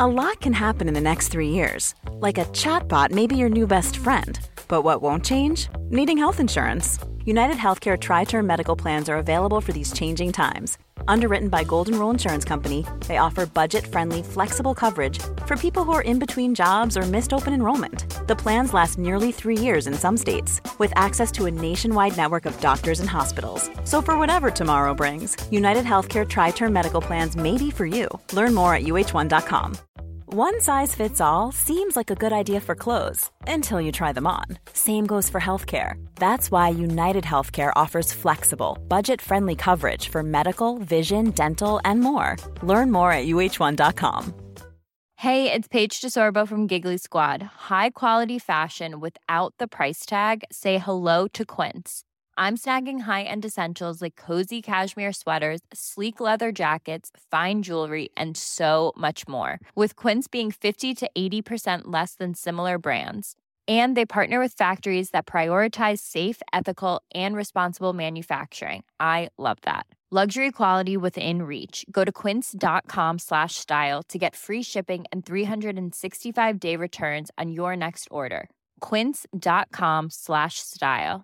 A lot can happen in the next 3 years. Like a chatbot may be your new best friend. But what won't change? Needing health insurance. United Healthcare Tri-Term Medical Plans are available for these changing times. Underwritten by Golden Rule Insurance Company, they offer budget-friendly, flexible coverage for people who are in between jobs or missed open enrollment. The plans last nearly 3 years in some states, with access to a nationwide network of doctors and hospitals. So for whatever tomorrow brings, United Healthcare Tri-Term Medical Plans may be for you. Learn more at uh1.com. One size fits all seems like a good idea for clothes until you try them on. Same goes for healthcare. That's why United Healthcare offers flexible, budget-friendly coverage for medical, vision, dental, and more. Learn more at uh1.com. Hey, it's Paige DeSorbo from Giggly Squad. High quality fashion without the price tag. Say hello to Quince. I'm snagging high-end essentials like cozy cashmere sweaters, sleek leather jackets, fine jewelry, and so much more. With Quince being 50 to 80% less than similar brands. And they partner with factories that prioritize safe, ethical, and responsible manufacturing. I love that. Luxury quality within reach. Go to quince.com/style to get free shipping and 365-day returns on your next order. Quince.com/style.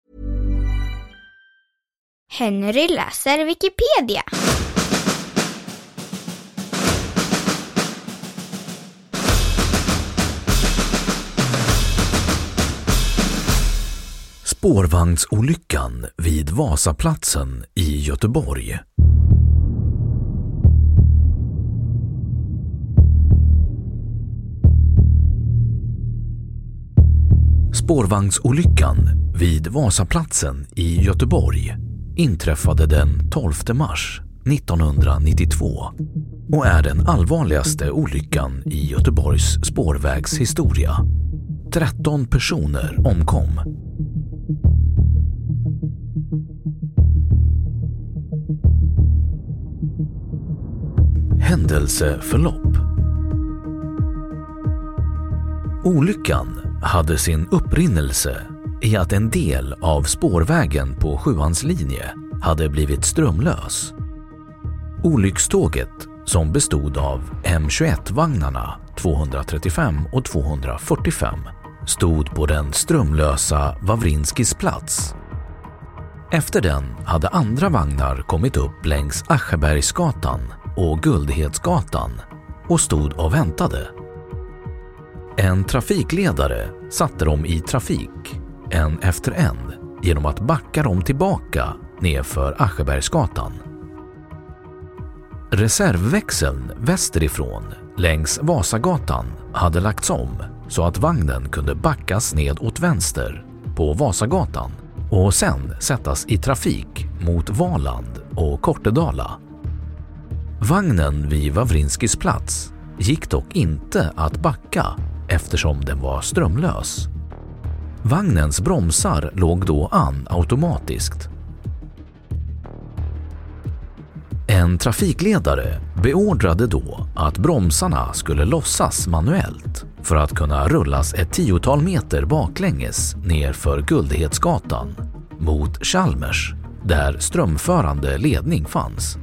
Henry läser Wikipedia. Spårvagnsolyckan vid Vasaplatsen i Göteborg. Spårvagnsolyckan vid Vasaplatsen i Göteborg inträffade den 12 mars 1992 och är den allvarligaste olyckan i Göteborgs spårvägshistoria. 13 personer omkom. Händelseförlopp. Olyckan hade sin upprinnelse i att en del av spårvägen på Sjuans linje hade blivit strömlös. Olyckståget, som bestod av M21-vagnarna 235 och 245, stod på den strömlösa Wawrinskis plats. Efter den hade andra vagnar kommit upp längs Aschebergsgatan och Guldhedsgatan och stod och väntade. En trafikledare satte dem i trafik, en efter en, genom att backa dem tillbaka nedför Aschebergsgatan. Reservväxeln västerifrån längs Vasagatan hade lagts om så att vagnen kunde backas ned åt vänster på Vasagatan och sen sättas i trafik mot Valand och Kortedala. Vagnen vid Wawrinskis plats gick dock inte att backa eftersom den var strömlös. Vagnens bromsar låg då an automatiskt. En trafikledare beordrade då att bromsarna skulle lossas manuellt för att kunna rullas ett 10-tal meter baklänges ner för Guldhedsgatan mot Chalmers, där strömförande ledning fanns.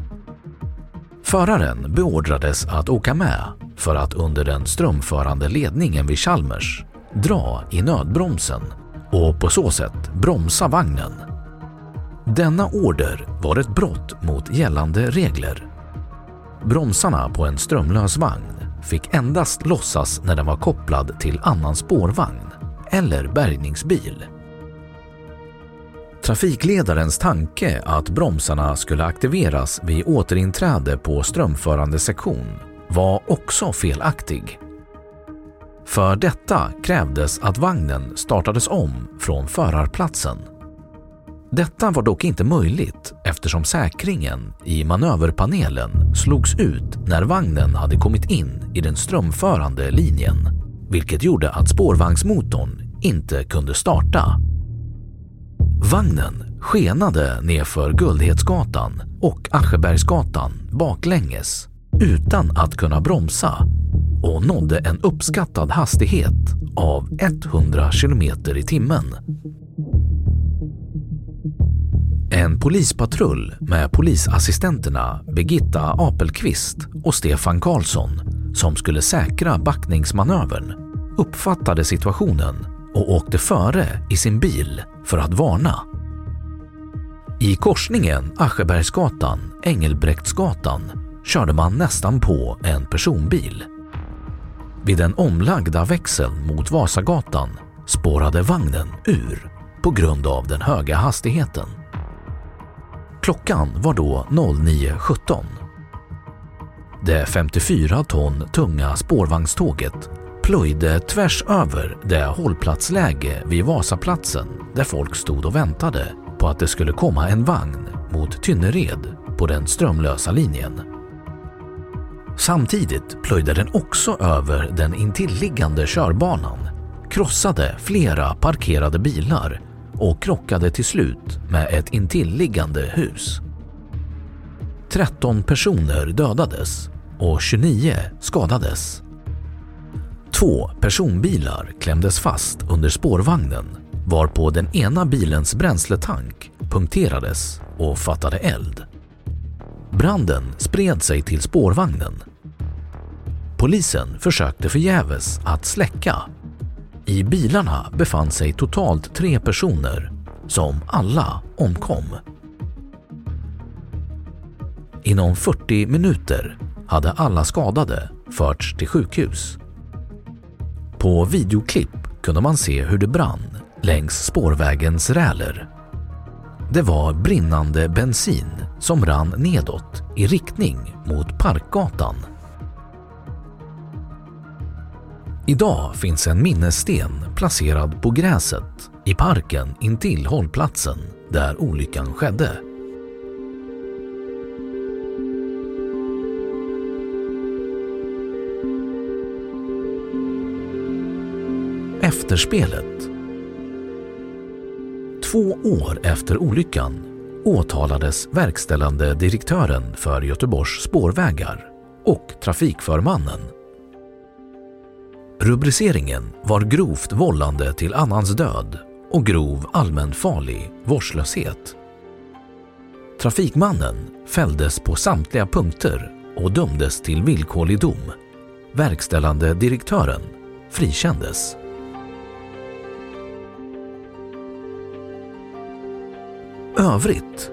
Föraren beordrades att åka med för att under den strömförande ledningen vid Chalmers dra i nödbromsen och på så sätt bromsa vagnen. Denna order var ett brott mot gällande regler. Bromsarna på en strömlös vagn fick endast lossas när den var kopplad till annan spårvagn eller bärgningsbil. Trafikledarens tanke att bromsarna skulle aktiveras vid återinträde på strömförande sektion var också felaktig. För detta krävdes att vagnen startades om från förarplatsen. Detta var dock inte möjligt eftersom säkringen i manöverpanelen slogs ut när vagnen hade kommit in i den strömförande linjen, vilket gjorde att spårvagnsmotorn inte kunde starta. Vagnen skenade nedför Guldhedsgatan och Aschebergsgatan baklänges utan att kunna bromsa och nådde en uppskattad hastighet av 100 km i timmen. En polispatrull med polisassistenterna Birgitta Apelqvist och Stefan Karlsson som skulle säkra backningsmanövern, uppfattade situationen och åkte före i sin bil för att varna. I korsningen Aschebergsgatan-Engelbrektsgatan körde man nästan på en personbil. Vid den omlagda växeln mot Vasagatan spårade vagnen ur på grund av den höga hastigheten. Klockan var då 09:17. Det 54 ton tunga spårvagnståget plöjde tvärs över det hållplatsläge vid Vasaplatsen där folk stod och väntade på att det skulle komma en vagn mot Tynnered på den strömlösa linjen. Samtidigt plöjde den också över den intilliggande körbanan, krossade flera parkerade bilar och krockade till slut med ett intilliggande hus. 13 personer dödades och 29 skadades. 2 personbilar klämdes fast under spårvagnen, varpå den ena bilens bränsletank punkterades och fattade eld. Branden spred sig till spårvagnen. Polisen försökte förgäves att släcka. I bilarna befann sig totalt 3 personer som alla omkom. Inom 40 minuter hade alla skadade förts till sjukhus. På videoklipp kunde man se hur det brann längs spårvägens räler. Det var brinnande bensin som rann nedåt i riktning mot Parkgatan. Idag finns en minnessten placerad på gräset i parken intill hållplatsen där olyckan skedde. Efterspelet. 2 år efter olyckan åtalades verkställande direktören för Göteborgs spårvägar och trafikförmannen. Rubriceringen var grovt vållande till annans död och grov allmänfarlig vårdslöshet. Trafikmannen fälldes på samtliga punkter och dömdes till villkorlig dom. Verkställande direktören frikändes. Övrigt.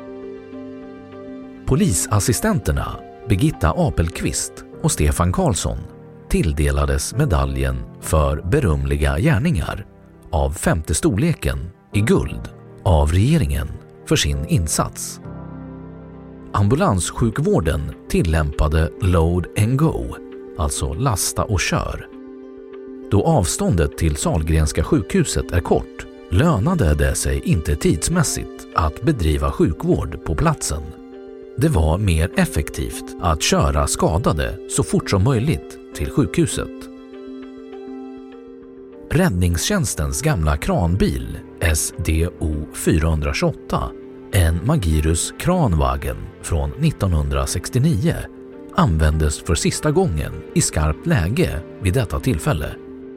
Polisassistenterna Birgitta Apelqvist och Stefan Karlsson tilldelades medaljen för berömliga gärningar av 5:e storleken i guld av regeringen för sin insats. Ambulanssjukvården tillämpade load and go, alltså lasta och kör. Då avståndet till Sahlgrenska sjukhuset är kort lönade det sig inte tidsmässigt att bedriva sjukvård på platsen. Det var mer effektivt att köra skadade så fort som möjligt till sjukhuset. Räddningstjänstens gamla kranbil SDO 428, en Magirus kranwagen från 1969, användes för sista gången i skarpt läge vid detta tillfälle.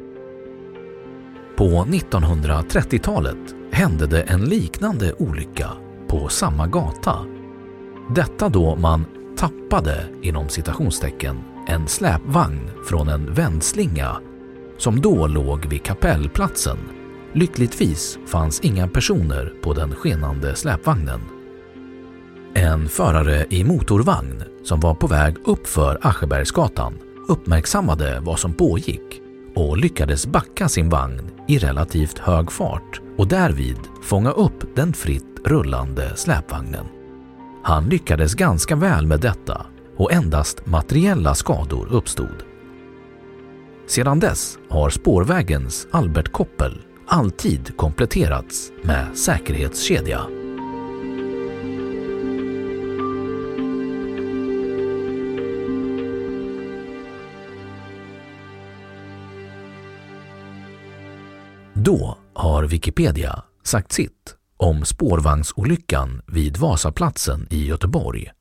På 1930-talet hände det en liknande olycka på samma gata. Detta då man tappade inom citationstecken en släpvagn från en vändslinga som då låg vid Kapellplatsen. Lyckligtvis fanns inga personer på den skenande släpvagnen. En förare i motorvagn som var på väg upp för Aschebergsgatan uppmärksammade vad som pågick och lyckades backa sin vagn i relativt hög fart och därvid fånga upp den fritt rullande släpvagnen. Han lyckades ganska väl med detta och endast materiella skador uppstod. Sedan dess har spårvägens Albert Koppel alltid kompletterats med säkerhetskedja. Då har Wikipedia sagt sitt om spårvagnsolyckan vid Vasaplatsen i Göteborg.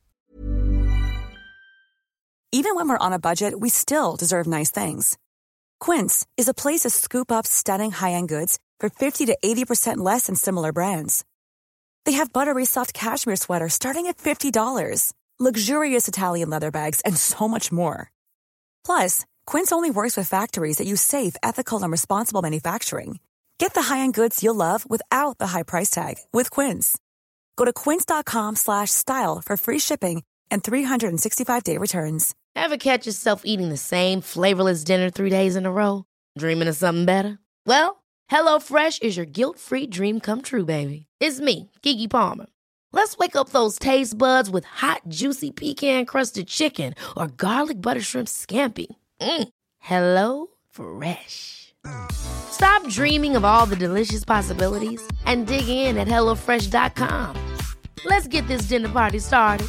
Even when we're on a budget, we still deserve nice things. Quince is a place to scoop up stunning high-end goods for 50 to 80% less than similar brands. They have buttery soft cashmere sweaters starting at $50, luxurious Italian leather bags, and so much more. Plus, Quince only works with factories that use safe, ethical, and responsible manufacturing. Get the high-end goods you'll love without the high price tag with Quince. Go to quince.com/style for free shipping and 365-day returns. Ever catch yourself eating the same flavorless dinner 3 days in a row? Dreaming of something better? Well, HelloFresh is your guilt-free dream come true, baby. It's me, Keke Palmer. Let's wake up those taste buds with hot, juicy pecan-crusted chicken or garlic butter shrimp scampi. Hello Fresh. Stop dreaming of all the delicious possibilities and dig in at HelloFresh.com. Let's get this dinner party started.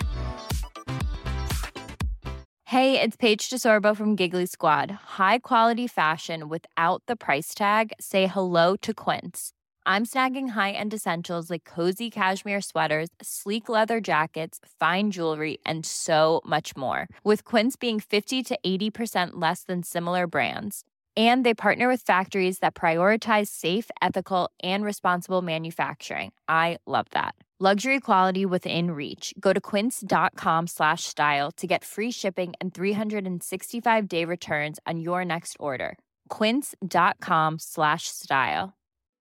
Hey, it's Paige DeSorbo from Giggly Squad. High quality fashion without the price tag. Say hello to Quince. I'm snagging high-end essentials like cozy cashmere sweaters, sleek leather jackets, fine jewelry, and so much more. With Quince being 50 to 80% less than similar brands. And they partner with factories that prioritize safe, ethical, and responsible manufacturing. I love that. Luxury quality within reach. Go to quince.com/style to get free shipping and 365-day returns on your next order. Quince.com/style.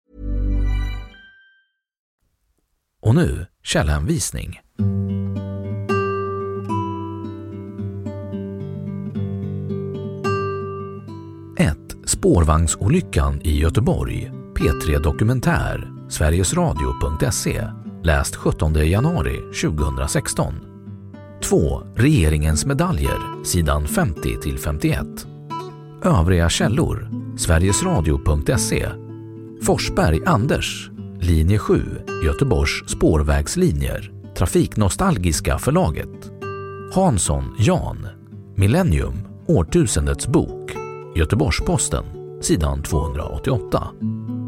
Och nu källhänvisning. 1. Spårvagnsolyckan i Göteborg. P3 Dokumentär. Sverigesradio.se. Läst 17 januari 2016. 2. Regeringens medaljer. Sidan 50-51. Övriga källor. Sverigesradio.se. Forsberg Anders. Linje 7. Göteborgs spårvägslinjer. Trafiknostalgiska förlaget. Hansson Jan. Millennium. Årtusendets bok. Göteborgs-Posten. Sidan 288.